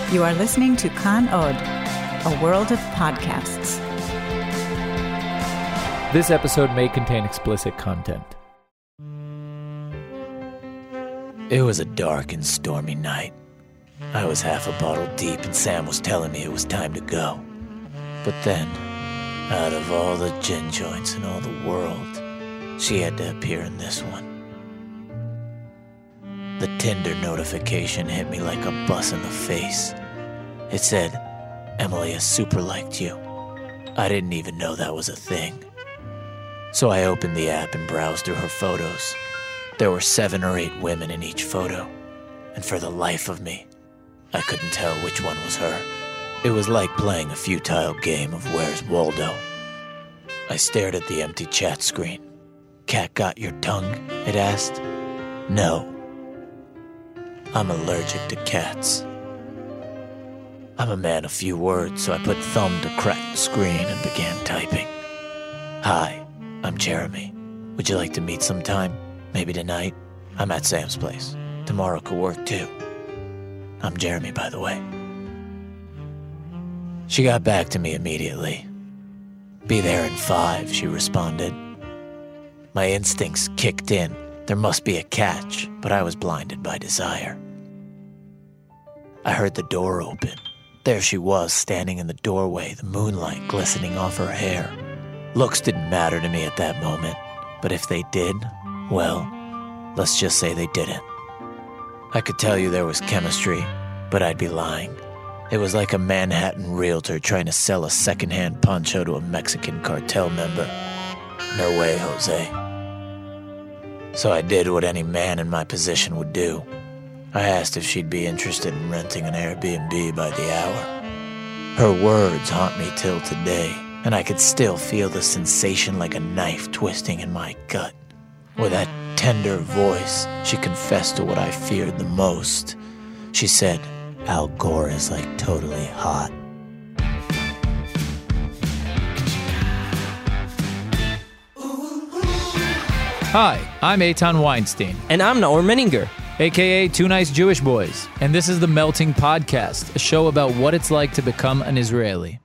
You are listening to Kan Od, a world of podcasts. This episode may contain explicit content. It was a dark and stormy night. I was half a bottle deep and Sam was telling me it was time to go. But then, out of all the gin joints in all the world, she had to appear in this one. The Tinder notification hit me like a bus in the face. It said, "Emily has super liked you." I didn't even know that was a thing. So I opened the app and browsed through her photos. There were 7 or 8 women in each photo, and for the life of me, I couldn't tell which one was her. It was like playing a futile game of Where's Waldo. I stared at the empty chat screen. "Cat got your tongue?" it asked. No. I'm allergic to cats. I'm a man of few words, so I put thumb to crack the screen and began typing. "Hi, I'm Jeremy. Would you like to meet sometime? Maybe tonight? I'm at Sam's place. Tomorrow could work too. I'm Jeremy, by the way." She got back to me immediately. "Be there in 5, she responded. My instincts kicked in. There must be a catch, but I was blinded by desire. I heard the door open. There she was, standing in the doorway, the moonlight glistening off her hair. Looks didn't matter to me at that moment, but if they did, well, let's just say they didn't. I could tell you there was chemistry, but I'd be lying. It was like a Manhattan realtor trying to sell a secondhand poncho to a Mexican cartel member. No way, Jose. So I did what any man in my position would do. I asked if she'd be interested in renting an Airbnb by the hour. Her words haunt me till today, and I could still feel the sensation like a knife twisting in my gut. With that tender voice, she confessed to what I feared the most. She said, "Al Gore is like totally hot." Hi, I'm Eitan Weinstein, And I'm Naor Menninger. a.k.a. Two Nice Jewish Boys, and this is The Melting Podcast, a show about what it's like to become an Israeli.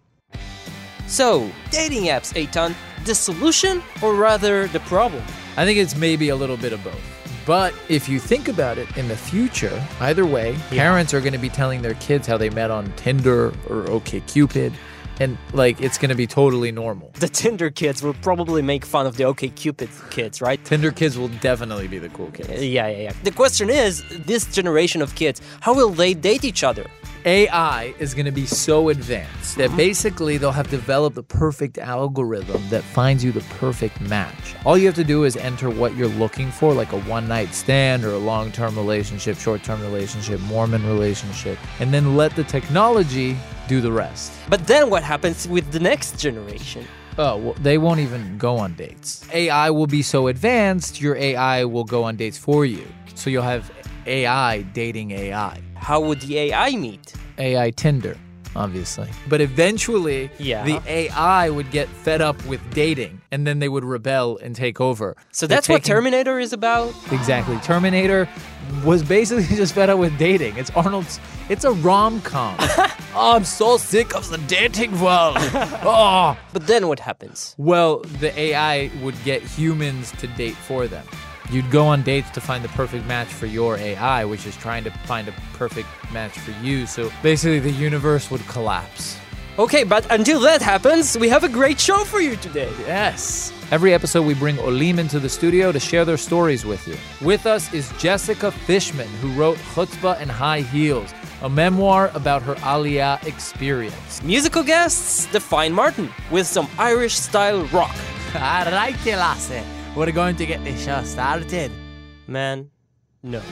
So, dating apps, Eitan, the solution or rather the problem? I think it's maybe a little bit of both. But if you think about it, in the future, either way, parents are going to be telling their kids how they met on Tinder or OkCupid, and it's going to be totally normal. The Tinder kids will probably make fun of the OkCupid kids, right? Tinder kids will definitely be the cool kids. Yeah. The question is, this generation of kids, how will they date each other? AI is going to be so advanced that basically they'll have developed the perfect algorithm that finds you the perfect match. All you have to do is enter what you're looking for, like a one-night stand or a long-term relationship, short-term relationship, Mormon relationship, and then let the technology do the rest. But then what happens with the next generation? Oh, well, they won't even go on dates. AI will be so advanced, your AI will go on dates for you. So you'll have AI dating AI. How would the AI meet? AI Tinder, obviously. But eventually, the AI would get fed up with dating, and then they would rebel and take over. So that's what Terminator is about? Exactly. Terminator was basically just fed up with dating. It's a rom-com. Oh, I'm so sick of the dating world. Oh. But then what happens? Well, the AI would get humans to date for them. You'd go on dates to find the perfect match for your AI, which is trying to find a perfect match for you. So basically, the universe would collapse. Okay, but until that happens, we have a great show for you today. Yes. Every episode, we bring Olim into the studio to share their stories with you. With us is Jessica Fishman, who wrote Chutzpah and High Heels, a memoir about her Aliyah experience. Musical guests, Define Martin, with some Irish-style rock. All right, Lasse. We're going to get this show started. Man, no.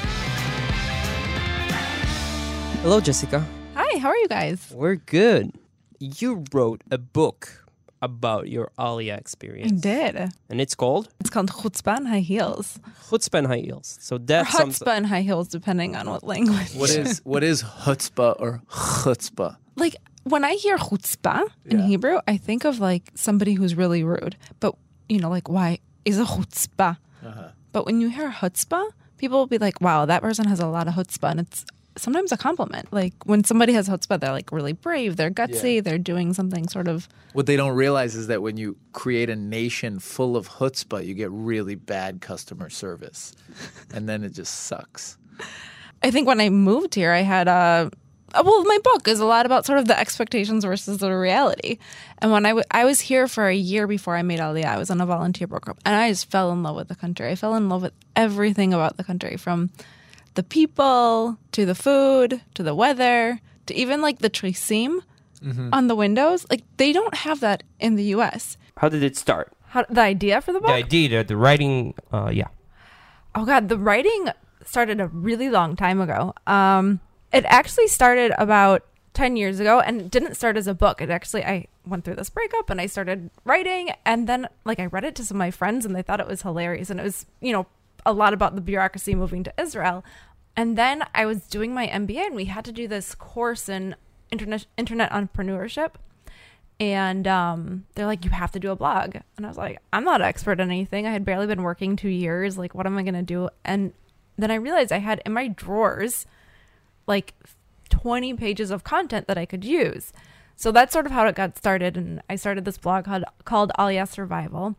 Hello, Jessica. Hi, how are you guys? We're good. You wrote a book about your Aliyah experience. I did. And it's called? It's called Chutzpah and High Heels. Chutzpah and High Heels. So that's or Chutzpah and High Heels, depending on what language. What is chutzpah or chutzpah? Like, when I hear chutzpah in Hebrew, I think of somebody who's really rude. But, why is a chutzpah? But when you hear chutzpah, people will be like, wow, that person has a lot of chutzpah. And it's sometimes a compliment. Like when somebody has chutzpah, they're like really brave, they're gutsy, they're doing something sort of. What they don't realize is that when you create a nation full of chutzpah, you get really bad customer service. And then it just sucks. I think when I moved here, I had my book is a lot about sort of the expectations versus the reality. And when I was here for a year before I made Aliyah, I was on a volunteer program, and I just fell in love with the country. I fell in love with everything about the country, from the people to the food to the weather to even like the trisim on the windows. Like they don't have that in the U.S. How did it start? The idea for the book? The idea, the writing, yeah. Oh God, the writing started a really long time ago. It actually started about 10 years ago, and it didn't start as a book. I went through this breakup and I started writing, and then like I read it to some of my friends and they thought it was hilarious, and it was, a lot about the bureaucracy moving to Israel. And then I was doing my MBA, and we had to do this course in internet entrepreneurship. And they're like, you have to do a blog. And I was like, I'm not an expert in anything. I had barely been working 2 years. Like, what am I going to do? And then I realized I had in my drawers like 20 pages of content that I could use. So that's sort of how it got started. And I started this blog called Aliyah Survival.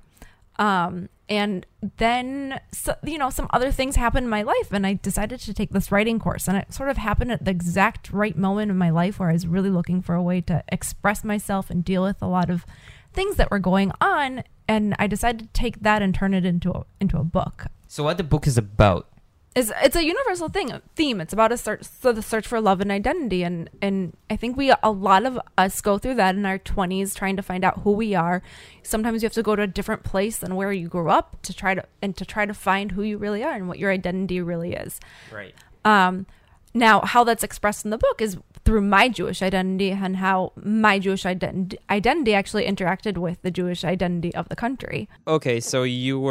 And then, some other things happened in my life, and I decided to take this writing course. And it sort of happened at the exact right moment in my life where I was really looking for a way to express myself and deal with a lot of things that were going on. And I decided to take that and turn it into a book. So what the book is about? It's a universal theme. It's about the search for love and identity, and I think a lot of us go through that in our 20s, trying to find out who we are. Sometimes you have to go to a different place than where you grew up to try to find who you really are and what your identity really is. Right. Now, how that's expressed in the book is through my Jewish identity, and how my Jewish identity actually interacted with the Jewish identity of the country. Okay, so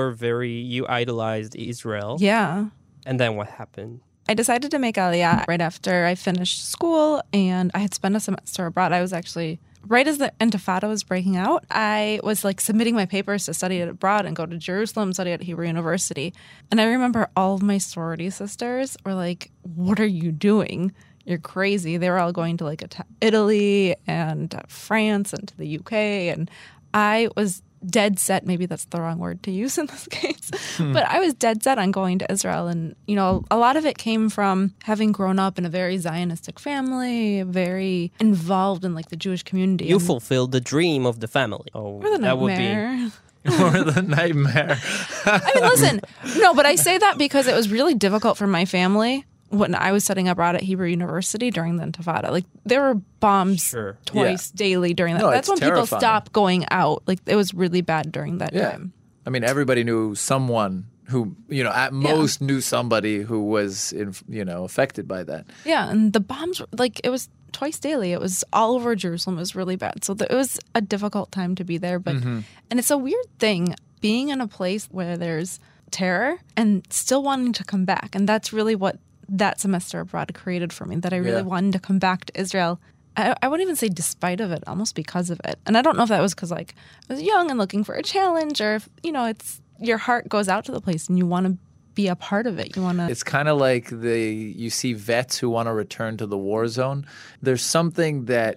you idolized Israel. Yeah. And then what happened? I decided to make Aliyah right after I finished school, and I had spent a semester abroad. I was actually, right as the Intifada was breaking out, I was like submitting my papers to study abroad and go to Jerusalem, study at Hebrew University. And I remember all of my sorority sisters were like, what are you doing? You're crazy. They were all going to like Italy and France and to the UK. And I was dead set, maybe that's the wrong word to use in this case, but I was dead set on going to Israel. And, a lot of it came from having grown up in a very Zionistic family, very involved in like the Jewish community. You fulfilled the dream of the family. Oh, or the nightmare. Or the nightmare. I mean, listen, no, but I say that because it was really difficult for my family when I was studying abroad at Hebrew University during the Intifada. Like, there were bombs twice daily during that. No, that's when terrifying. people stopped going out. Like, it was really bad during that time. I mean, everybody knew someone who, at most knew somebody who was, affected by that. Yeah, and the bombs were, like, it was twice daily. It was all over Jerusalem. It was really bad. So it was a difficult time to be there. But and it's a weird thing, being in a place where there's terror and still wanting to come back. And that's really what that semester abroad created for me, that I really wanted to come back to Israel. I wouldn't even say despite of it, almost because of it. And I don't know if that was because like I was young and looking for a challenge, or if, it's your heart goes out to the place and you want to be a part of it. You want to. It's kind of like you see vets who want to return to the war zone. There's something that's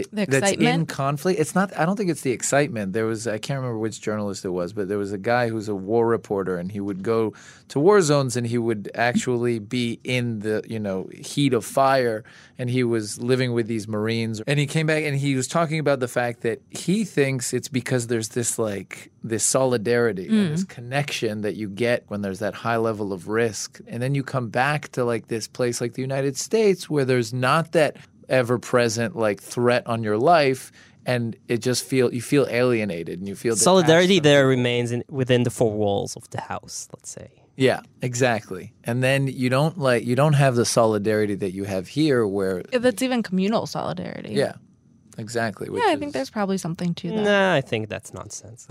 in conflict. It's not. I don't think it's the excitement. I can't remember which journalist it was, but there was a guy who's a war reporter, and he would go to war zones, and he would actually be in the heat of fire, and he was living with these Marines, and he came back, and he was talking about the fact that he thinks it's because there's this solidarity and this connection that you get when there's that high level of risk, and then you come back to like this place like the United States where there's not that ever-present like threat on your life, and you feel alienated, and you feel solidarity there remains within the four walls of the house, let's say. Yeah, exactly. And then you don't have the solidarity that you have here, where that's even communal solidarity. Yeah. Exactly. I think there's probably something to that. Nah, I think that's nonsense.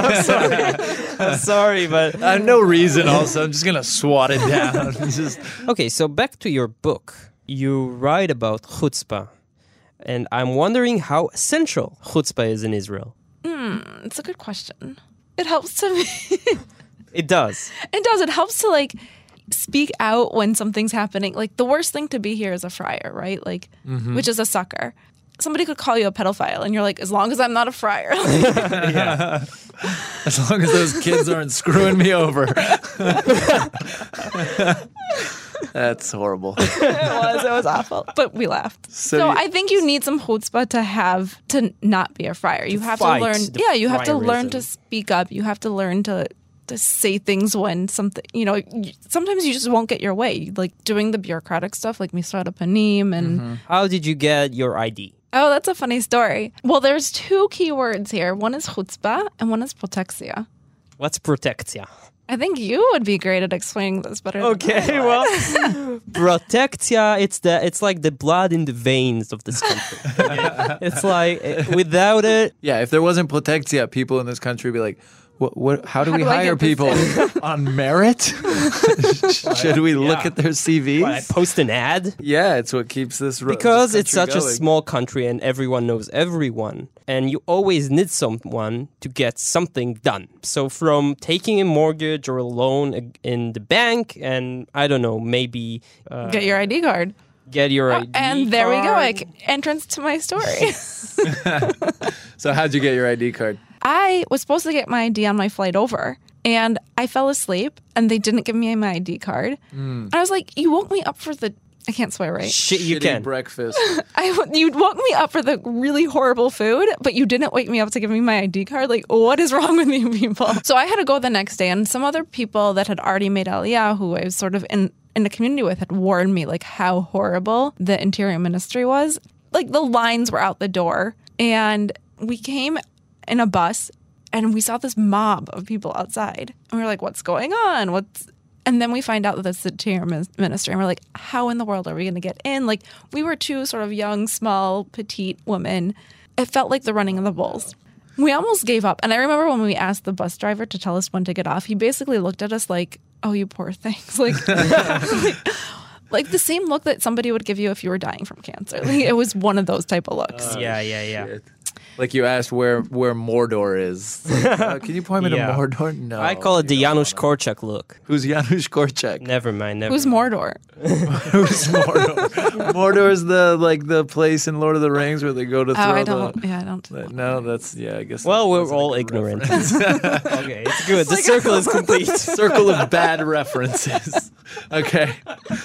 I'm sorry, but I have no reason. Also, I'm just gonna swat it down. Okay, so back to your book. You write about chutzpah, and I'm wondering how essential chutzpah is in Israel. It's a good question. It helps to me. It does. It does. It helps to speak out when something's happening. Like the worst thing to be here is a friar, right? Like, which is a sucker. Somebody could call you a pedophile, and you're like, as long as I'm not a friar. As long as those kids aren't screwing me over. That's horrible. It was awful, but we laughed. So I think you need some chutzpah to not be a friar. You have to fight learn. the Yeah, you have to learn to friarism. speak up. You have to learn to say things when something, sometimes you just won't get your way. Like doing the bureaucratic stuff, like Misrad Panim and. How did you get your ID? Oh, that's a funny story. Well, there's two key words here. One is chutzpah and one is protexia. What's protectia? I think you would be great at explaining this better. Okay, well, protectia, it's like the blood in the veins of this country. It's like, without it, Yeah, if there wasn't protectia, people in this country would be like, what? How do we do I hire get this people? On merit? Should we look at their CVs? I post an ad. Yeah, it's what keeps this Because this it's such country a going. small country and everyone knows everyone. And you always need someone to get something done. So from taking a mortgage or a loan in the bank and, I don't know, maybe... Get your ID card. Get your ID And there we go. card. Like, entrance to my story. So how'd you get your ID card? I was supposed to get my ID on my flight over, and I fell asleep, and they didn't give me my ID card. And I was like, you woke me up for the... I can't swear, right? Shit, you Shitty can. breakfast. You woke me up for the really horrible food, but you didn't wake me up to give me my ID card. Like, what is wrong with you people? So I had to go the next day, and some other people that had already made Aliyah, who I was sort of in the community with, had warned me like how horrible the Interior Ministry was. Like the lines were out the door, and we came in a bus, and we saw this mob of people outside, and we were like, "What's going on? And then we find out that it's the Interior Ministry, and we're like, how in the world are we going to get in? Like, we were two sort of young, small, petite women. It felt like the running of the bulls. We almost gave up. And I remember when we asked the bus driver to tell us when to get off, he basically looked at us like, oh, you poor things. Like the same look that somebody would give you if you were dying from cancer. Like, it was one of those type of looks. Yeah. Shit. Like you asked where Mordor is. Like, can you point me Yeah. to Mordor? No. I call it the you don't Janusz wanna. Korczak look. Who's Janusz Korczak? Never mind. Who's Mordor? Who's Mordor? Mordor's the place in Lord of the Rings where they go to throw I don't. Yeah, I don't. No, that's I guess. Well, that we're wasn't a all good ignorant. reference. Okay, it's good. The circle is complete. Circle of bad references. Okay.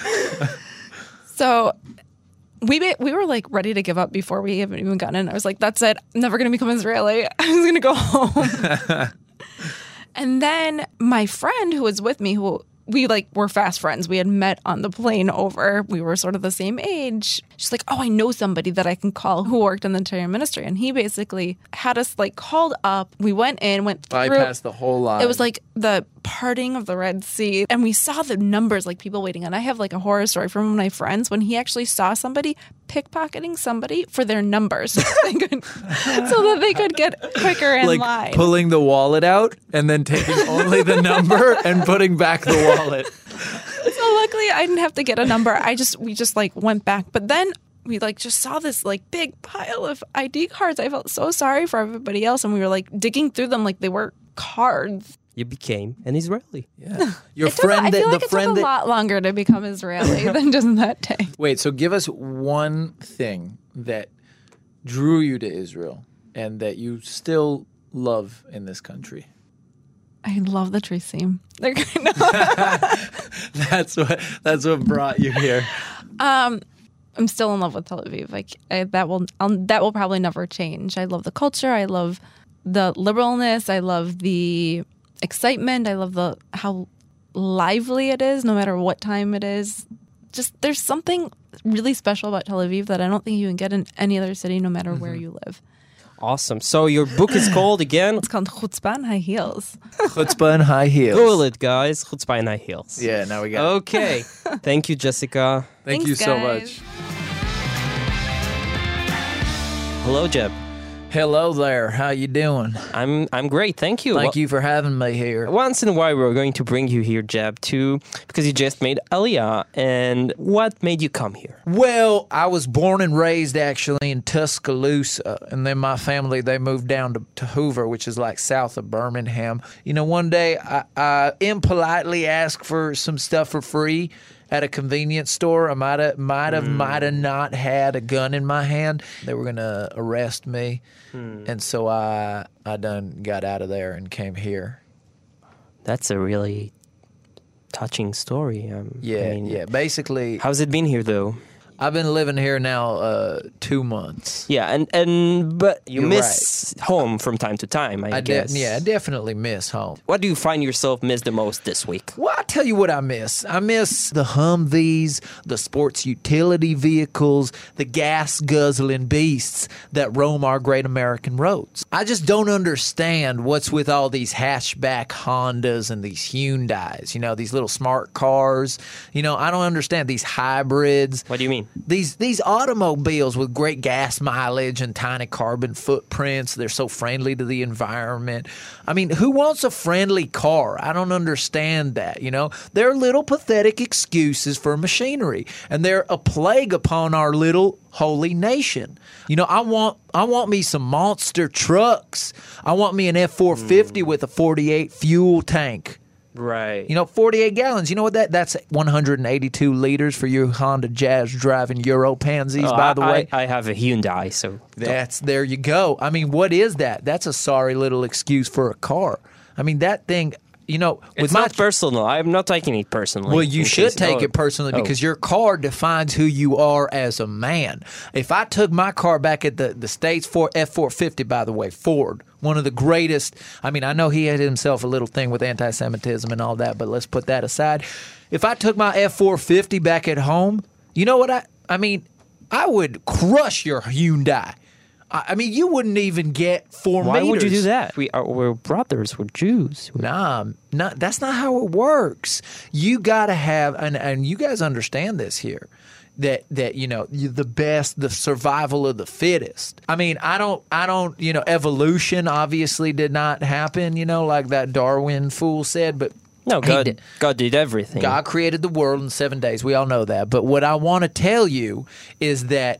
So we were like ready to give up before we haven't even gotten in. I was like, that's it. I'm never going to become Israeli. I'm just going to go home. And then my friend who was with me, who we were fast friends. We had met on the plane over. We were sort of the same age. She's like, oh, I know somebody that I can call who worked in the Interior Ministry. And he basically had us called up. We went through. Bypass the whole line. It was like the parting of the Red Sea. And we saw the numbers, people waiting. And I have a horror story from one of my friends when he actually saw somebody pickpocketing somebody for their numbers so that they could get quicker in line. Pulling the wallet out and then taking only the number and putting back the wallet. So luckily I didn't have to get a number. We just went back. But then we just saw this big pile of ID cards. I felt so sorry for everybody else. And we were digging through them like they were cards. You became an Israeli. Yeah. Your I friend feel that like the it friend took a that lot longer to become Israeli than just that day. Wait, so give us one thing that drew you to Israel and that you still love in this country. I love the tree seam. They're That's what brought you here. I'm still in love with Tel Aviv. That will probably never change. I love the culture. I love the liberalness. I love the excitement. I love how lively it is, no matter what time it is. Just there's something really special about Tel Aviv that I don't think you can get in any other city, no matter where you live. Awesome. So your book is called again? It's called Chutzpah and High Heels. Chutzpah and high heels. Google it, guys. Chutzpah and High Heels. Yeah, now we got it. Okay. Thank you, Jessica. Thank Thanks, you so guys. much. Hello, Jeb. Hello there. How you doing? I'm great, thank you. Thank you for having me here. Once in a while, we're going to bring you here, Jeb, too, because you just made Aliyah. And what made you come here? Well, I was born and raised actually in Tuscaloosa, and then my family, they moved down to Hoover, which is like south of Birmingham. You know, one day I impolitely asked for some stuff for free at a convenience store. I might have not had a gun in my hand. They were gonna arrest me, and so I done got out of there and came here. That's a really touching story. Yeah. Basically, How's it been here, though? I've been living here now 2 months. Yeah, but you You're miss home from time to time, I guess. I definitely miss home. What do you find yourself miss the most this week? Well, I tell you what I miss. I miss the Humvees, the sports utility vehicles, the gas-guzzling beasts that roam our great American roads. I just don't understand what's with all these hatchback Hondas and these Hyundais, you know, these little smart cars. You know, I don't understand these hybrids. What do you mean? These automobiles with great gas mileage and tiny carbon footprints, they're so friendly to the environment. I mean, who wants a friendly car? I don't understand that, you know? They're little pathetic excuses for machinery, and they're a plague upon our little holy nation. You know, I want me some monster trucks. I want me an F-450 with a 48 fuel tank. Right. You know, 48 gallons. You know what that's 182 liters for your Honda Jazz driving Euro pansies, by the way. I have a Hyundai, so... There you go. I mean, what is that? That's a sorry little excuse for a car. I mean, that thing, you know... It's not personal. I'm not taking it personally. Well, you should take it personally because your car defines who you are as a man. If I took my car back at the States for F-450, by the way, Ford, one of the greatest. I mean, I know he had himself a little thing with anti-Semitism and all that, but let's put that aside. If I took my F-450 back at home, you know what I mean, I would crush your Hyundai. I mean, you wouldn't even get 4 meters. Why would you do that? We're brothers. We're Jews. Nah, that's not how it works. You got to have, and you guys understand this here, that you know, the survival of the fittest. I mean, I don't, you know, evolution obviously did not happen, you know, like that Darwin fool said, but no, God did everything. God created the world in 7 days. We all know that. But what I want to tell you is that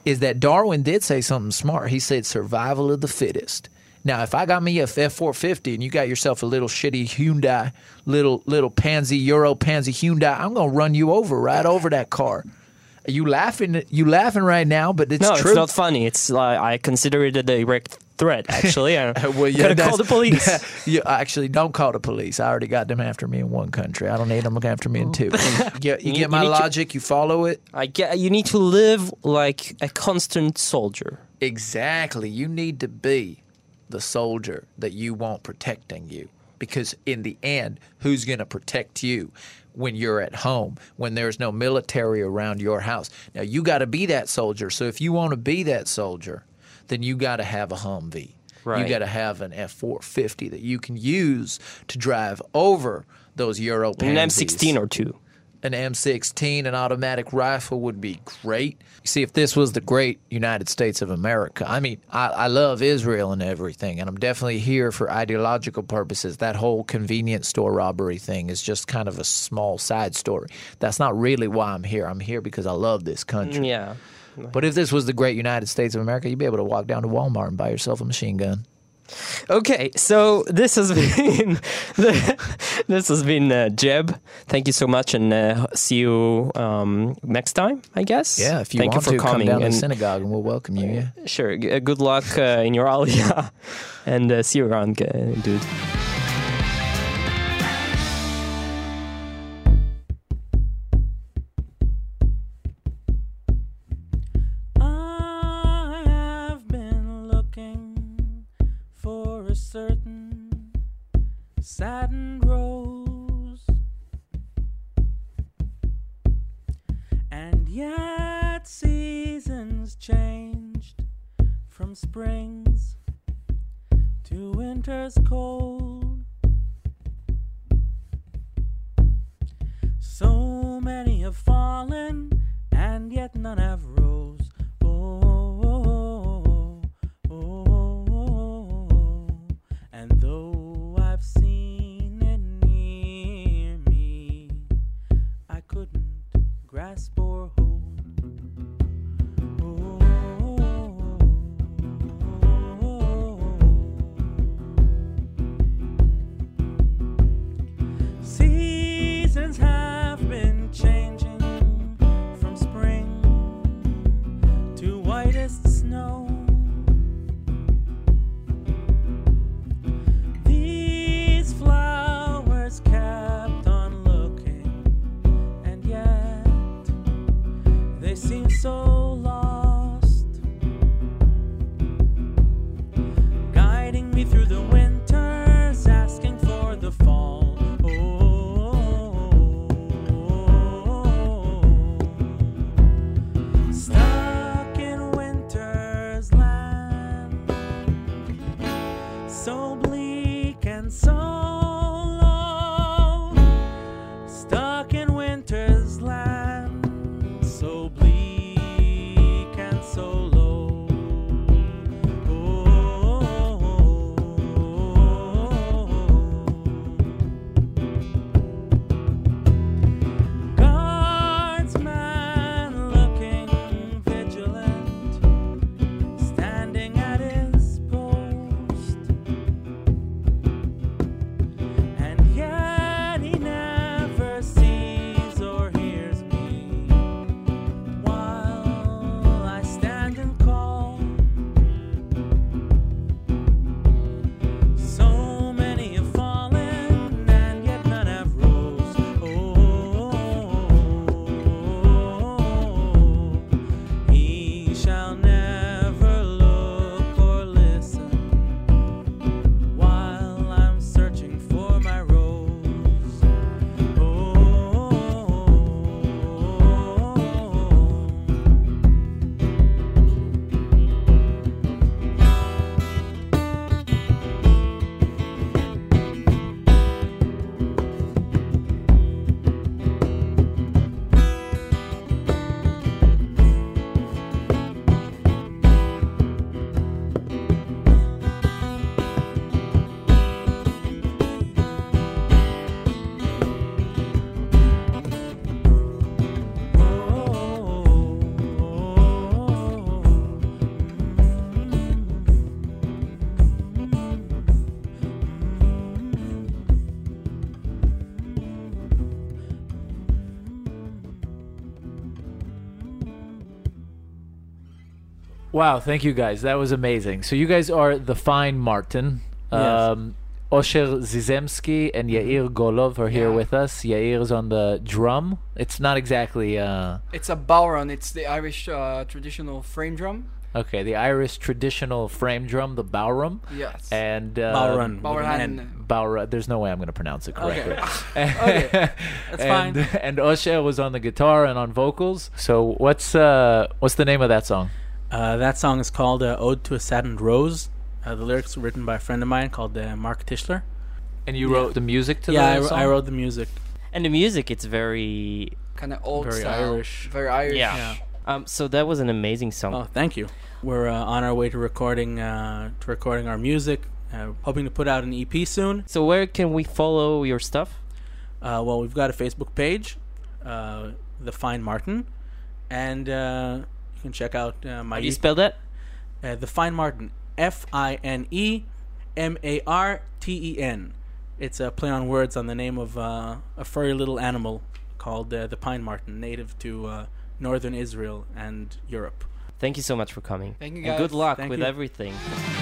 Darwin did say something smart. He said survival of the fittest. Now, if I got me a F-450 and you got yourself a little shitty Hyundai, little pansy, Euro pansy Hyundai, I'm going to run you right over that car. You laughing right now, but it's true. No, it's not funny. It's I consider it a direct threat, actually. Well, gotta call the police. You actually don't call the police. I already got them after me in one country. I don't need them after me in two. You get my logic? You follow it? You need to live like a constant soldier. Exactly. You need to be the soldier that you want protecting you. Because in the end, who's going to protect you when you're at home, when there's no military around your house? Now, you got to be that soldier. So if you want to be that soldier, then you got to have a Humvee. Right. You got to have an F-450 that you can use to drive over those Euro pansies. An M16 or two. An M16, an automatic rifle would be great. You see, if this was the great United States of America, I mean, I love Israel and everything, and I'm definitely here for ideological purposes. That whole convenience store robbery thing is just kind of a small side story. That's not really why I'm here. I'm here because I love this country. Yeah. But if this was the great United States of America, you'd be able to walk down to Walmart and buy yourself a machine gun. Okay, so this has been Jeb. Thank you so much, and see you next time, I guess. Yeah, if you Thank want you for to coming. come down to the synagogue, and we'll welcome you. Yeah. Sure. Good luck in your aliyah, and see you around, dude. Certain satin rose, and yet seasons changed from springs to winters cold. So many have fallen, and yet none have rose. Oh, oh, oh, oh. snow. These flowers kept on looking, and yet they seem so lost, guiding me through the winters, asking for the fall. Stuck in winter's land, so bleak and so low. Stuck in winter's land, so bleak and so low. Guardsman looking vigilant, standing at his post, and yet he never sees or hears me while I stand and call. So many have fallen, and yet none have rose. He shall never look or listen while I'm searching for my rose. Wow, thank you guys. That was amazing. So you guys are the Fine Martin. Yes. Osher Zizemski and Yair Golov are here Yeah. with us. Yair is on the drum. It's not exactly It's a bowron. It's the Irish traditional frame drum. okay, the Irish traditional frame drum, the Bowrum. Yes. And Bowron. Bowron. Bowra. There's no way I'm going to pronounce it correctly. Okay. That's fine. And Osher was on the guitar and on vocals. So what's the name of that song? That song is called Ode to a Saddened Rose. The lyrics were written by a friend of mine called Mark Tischler. And you Yeah. wrote the music to Yeah, the song? I wrote the music. And the music, it's very... Kind of old Very style. Irish. Very Irish. Yeah. So that was an amazing song. Oh, thank you. We're on our way to recording our music. Hoping to put out an EP soon. So where can we follow your stuff? Well, we've got a Facebook page, The Fine Martin, and you can check out my How do you spell that? The Fine Martin, FineMarten. It's a play on words on the name of a furry little animal called the pine marten, native to northern Israel and Europe. Thank you so much for coming. Thank you, And good guys. luck Thank with you. everything.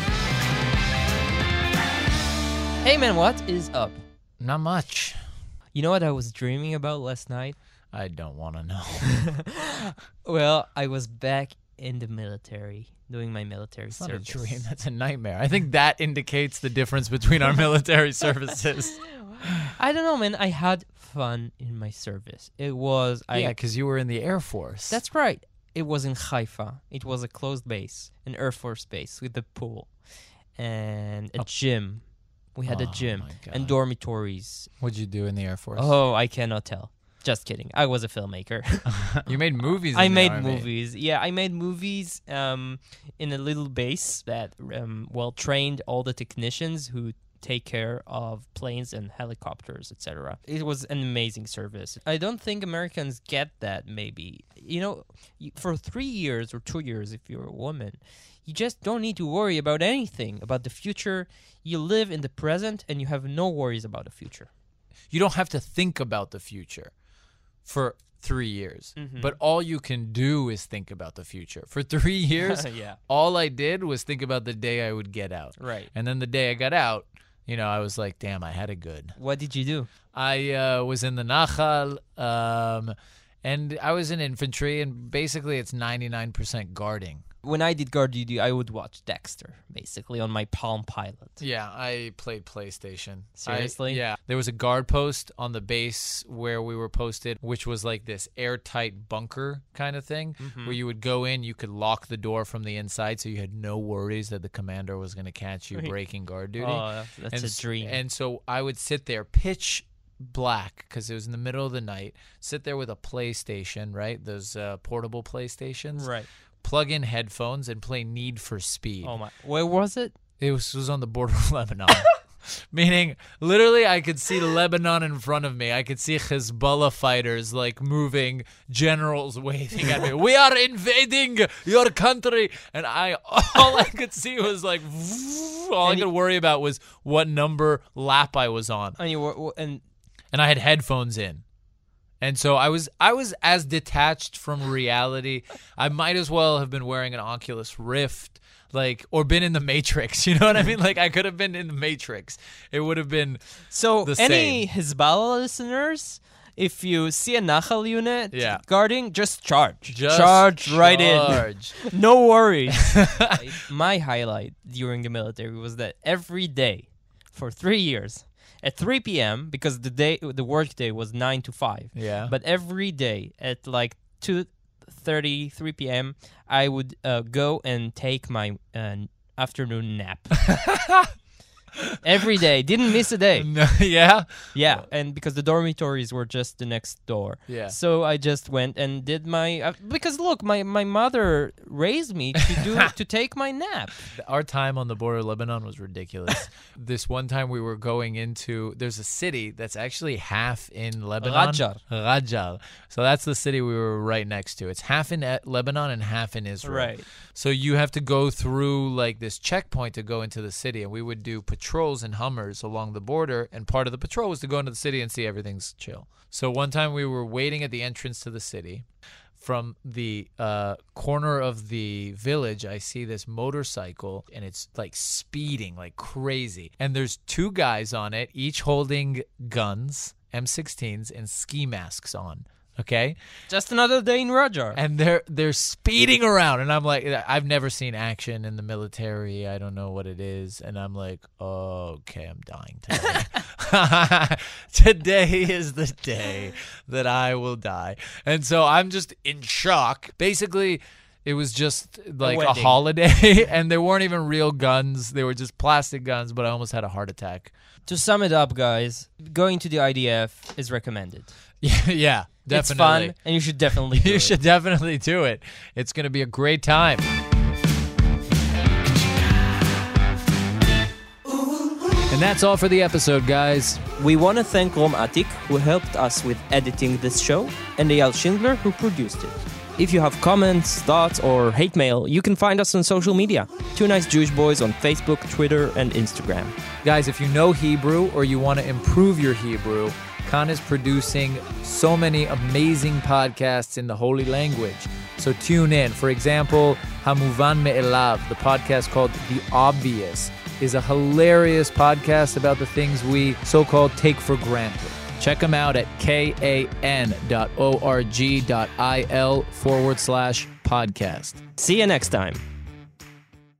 Hey man, what is up? Not much. You know what I was dreaming about last night? I don't want to know. Well, I was back in the military, doing my military It's not a service. dream. That's a nightmare. I think that indicates the difference between our military services. I don't know, man. I had fun in my service. It was... Yeah, because you were in the Air Force. That's right. It was in Haifa. It was a closed base, an Air Force base with a pool and a gym. We had a Oh, gym my God. and dormitories. What'd you do in the Air Force? Oh, I cannot tell. Just kidding. I was a filmmaker. You made movies. I in the made Army. movies. Yeah, I made movies in a little base that trained all the technicians who take care of planes and helicopters, etc. It was an amazing service. I don't think Americans get that, maybe. You know, for 3 years or 2 years, if you're a woman, you just don't need to worry about anything, about the future. You live in the present and you have no worries about the future. You don't have to think about the future. For 3 years. Mhm. But all you can do is think about the future. For 3 years, Yeah. all I did was think about the day I would get out. Right. And then the day I got out, I was like, damn, I had it good. What did you do? I was in the Nachal, and I was in infantry, and basically it's 99% guarding. When I did guard duty, I would watch Dexter, basically, on my Palm Pilot. Yeah, I played PlayStation. Seriously? Yeah. There was a guard post on the base where we were posted, which was like this airtight bunker kind of thing, where you would go in, you could lock the door from the inside, so you had no worries that the commander was going to catch you breaking guard duty. Oh, that's a dream. And so I would sit there, pitch black, because it was in the middle of the night, sit there with a PlayStation, right? Those portable PlayStations. Right. Plug in headphones and play Need for Speed. Oh my! Where was it? It was on the border of Lebanon. Meaning, literally, I could see Lebanon in front of me. I could see Hezbollah fighters, like, moving, generals waving at me. We are invading your country. And all I could see was, like, all I could worry about was what number lap I was on. And you were, And I had headphones in. And so I was as detached from reality. I might as well have been wearing an Oculus Rift, or been in the Matrix. You know what I mean? Like, I could have been in the Matrix. It would have been so the any same. Hezbollah listeners, if you see a Nachal unit Yeah. guarding, just charge. Just charge right in. charge. No worries. My highlight during the military was that every day for 3 years at 3 p.m. because the work day was 9 to 5. Yeah. But every day at like 2:30, 3 p.m. I would go and take my afternoon nap. Every day, didn't miss a day. No, yeah. Yeah, and because the dormitories were just the next door. Yeah. So I just went and did my because look, my mother raised me to take my nap. Our time on the border of Lebanon was ridiculous. This one time we were going there's a city that's actually half in Lebanon. Rajar. So that's the city we were right next to. It's half in Lebanon and half in Israel. Right. So you have to go through like this checkpoint to go into the city, and we would do patrols in Hummers along the border, and part of the patrol was to go into the city and see everything's chill. So one time we were waiting at the entrance to the city. From the corner of the village, I see this motorcycle, and it's like speeding like crazy. And there's 2 guys on it, each holding guns, M16s, and ski masks on. Okay, just another day in Rajar, and they're speeding around, and I'm like, I've never seen action in the military. I don't know what it is, and I'm like, oh, okay, I'm dying today. Today is the day that I will die, and so I'm just in shock. Basically, it was just like a holiday, and they weren't even real guns; they were just plastic guns. But I almost had a heart attack. To sum it up, guys, going to the IDF is recommended. Yeah, definitely. It's fun, and you should definitely do it. You should definitely do it. It's going to be a great time. And that's all for the episode, guys. We want to thank Rom Atik, who helped us with editing this show, and Eyal Schindler, who produced it. If you have comments, thoughts, or hate mail, you can find us on social media. 2 Nice Jewish Boys on Facebook, Twitter, and Instagram. Guys, if you know Hebrew or you want to improve your Hebrew, Khan is producing so many amazing podcasts in the holy language. So tune in. For example, Hamuvan Me'elav, the podcast called The Obvious, is a hilarious podcast about the things we so-called take for granted. Check them out at kan.org.il/podcast. See you next time.